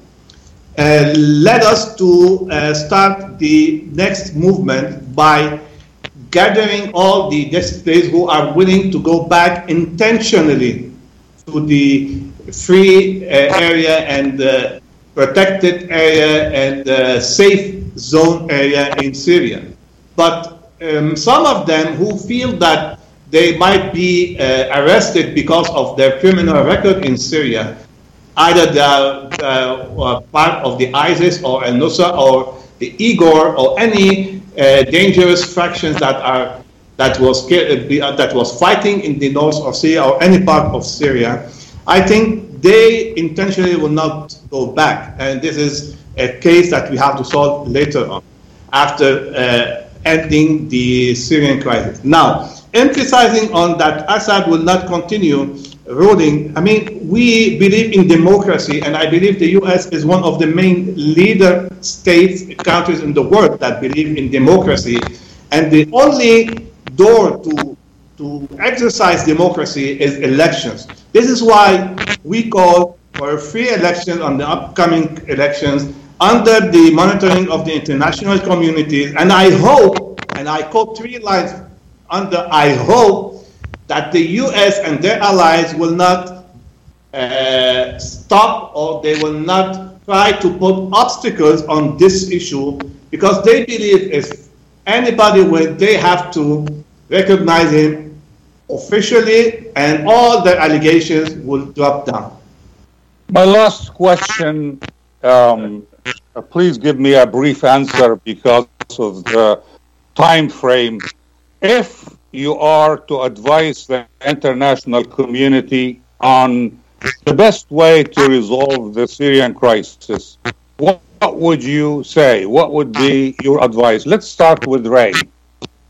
led us to uh, start the next movement by gathering all the displaced who are willing to go back intentionally to the free uh, area and uh, protected area and uh, safe zone area in Syria. But um, some of them who feel that they might be uh, arrested because of their criminal record in Syria, either they are uh, part of the ISIS or al-Nusra or the Igor or any uh, dangerous fractions that are that was uh, that was fighting in the north of Syria or any part of Syria. I think they intentionally will not go back, and this is a case that we have to solve later on, after uh, ending the Syrian crisis. Now, emphasizing on that Assad will not continue ruling, I mean, we believe in democracy, and I believe the U S is one of the main leader states, countries in the world that believe in democracy, and the only door to, to exercise democracy is elections. This is why we call for a free election on the upcoming elections under the monitoring of the international community, and I hope, and I quote three lines under I hope that the U S and their allies will not uh, stop or they will not try to put obstacles on this issue, because they believe if anybody will, they have to recognize him officially and all their allegations will drop down. My last question, um, please give me a brief answer because of the time frame. If you are to advise the international community on the best way to resolve the Syrian crisis, what would you say? What would be your advice? Let's start with Ray.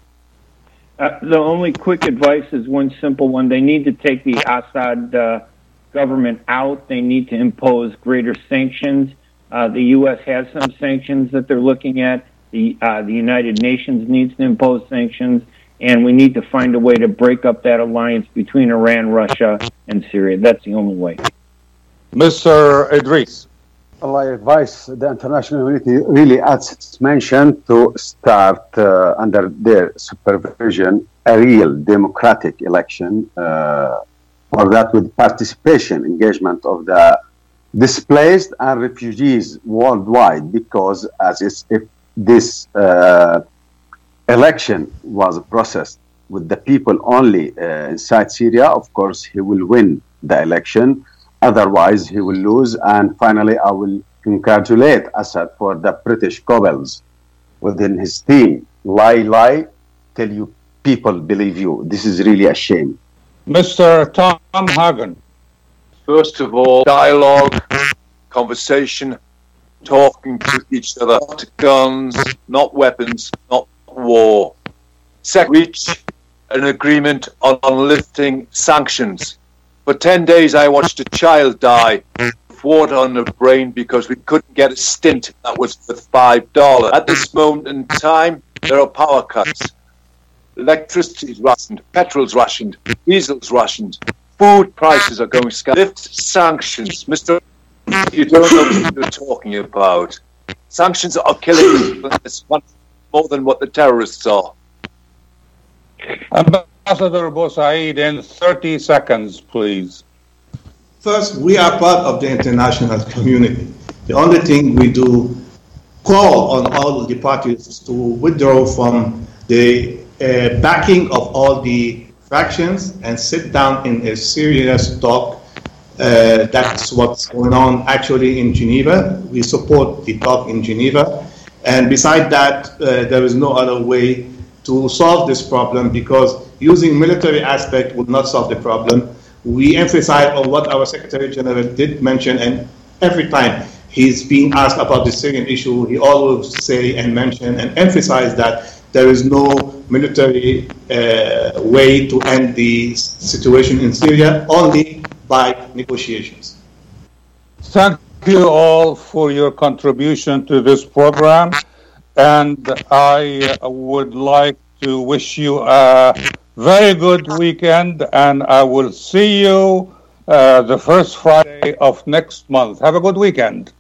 Uh, the only quick advice is one simple one. They need to take the Assad uh, government out. They need to impose greater sanctions. Uh, the U S has some sanctions that they're looking at. The, uh, the United Nations needs to impose sanctions. And we need to find a way to break up that alliance between Iran, Russia, and Syria. That's the only way. Mister Idris. Well, I advise the international community, really, as it's mentioned, to start uh, under their supervision a real democratic election. Uh, for that, with participation, engagement of the displaced and refugees worldwide, because as is, if this uh, election was processed with the people only uh, inside Syria, of course, he will win the election. Otherwise, he will lose. And finally, I will congratulate Assad for the British cobbles within his team. Lie, lie, tell you people believe you. This is really a shame. Mister Tom Hagen. First of all, dialogue, conversation, talking to each other, not guns, not weapons, not war. Second, reach an agreement on, on lifting sanctions. For ten days, I watched a child die with water on the brain because we couldn't get a stint that was worth five dollars. At this moment in time, there are power cuts. Electricity's rationed, petrol's rationed, diesel's rationed, food prices are going sky. Lift sanctions. Mister You don't know what you're talking about. Sanctions are killing people more than what the terrorists are. Ambassador Bosaid, in thirty seconds, please. First, we are part of the international community. The only thing we do, call on all the parties to withdraw from the uh, backing of all the factions and sit down in a serious talk. Uh, that's what's going on actually in Geneva. We support the talk in Geneva. And beside that, uh, there is no other way to solve this problem, because using military aspect would not solve the problem. We emphasize on what our Secretary General did mention, and every time he's being asked about the Syrian issue, he always say and mention and emphasize that there is no military uh, way to end the situation in Syria, only by negotiations. Thank you all for your contribution to this program, and I would like to wish you a very good weekend, and I will see you uh, the first Friday of next month. Have a good weekend.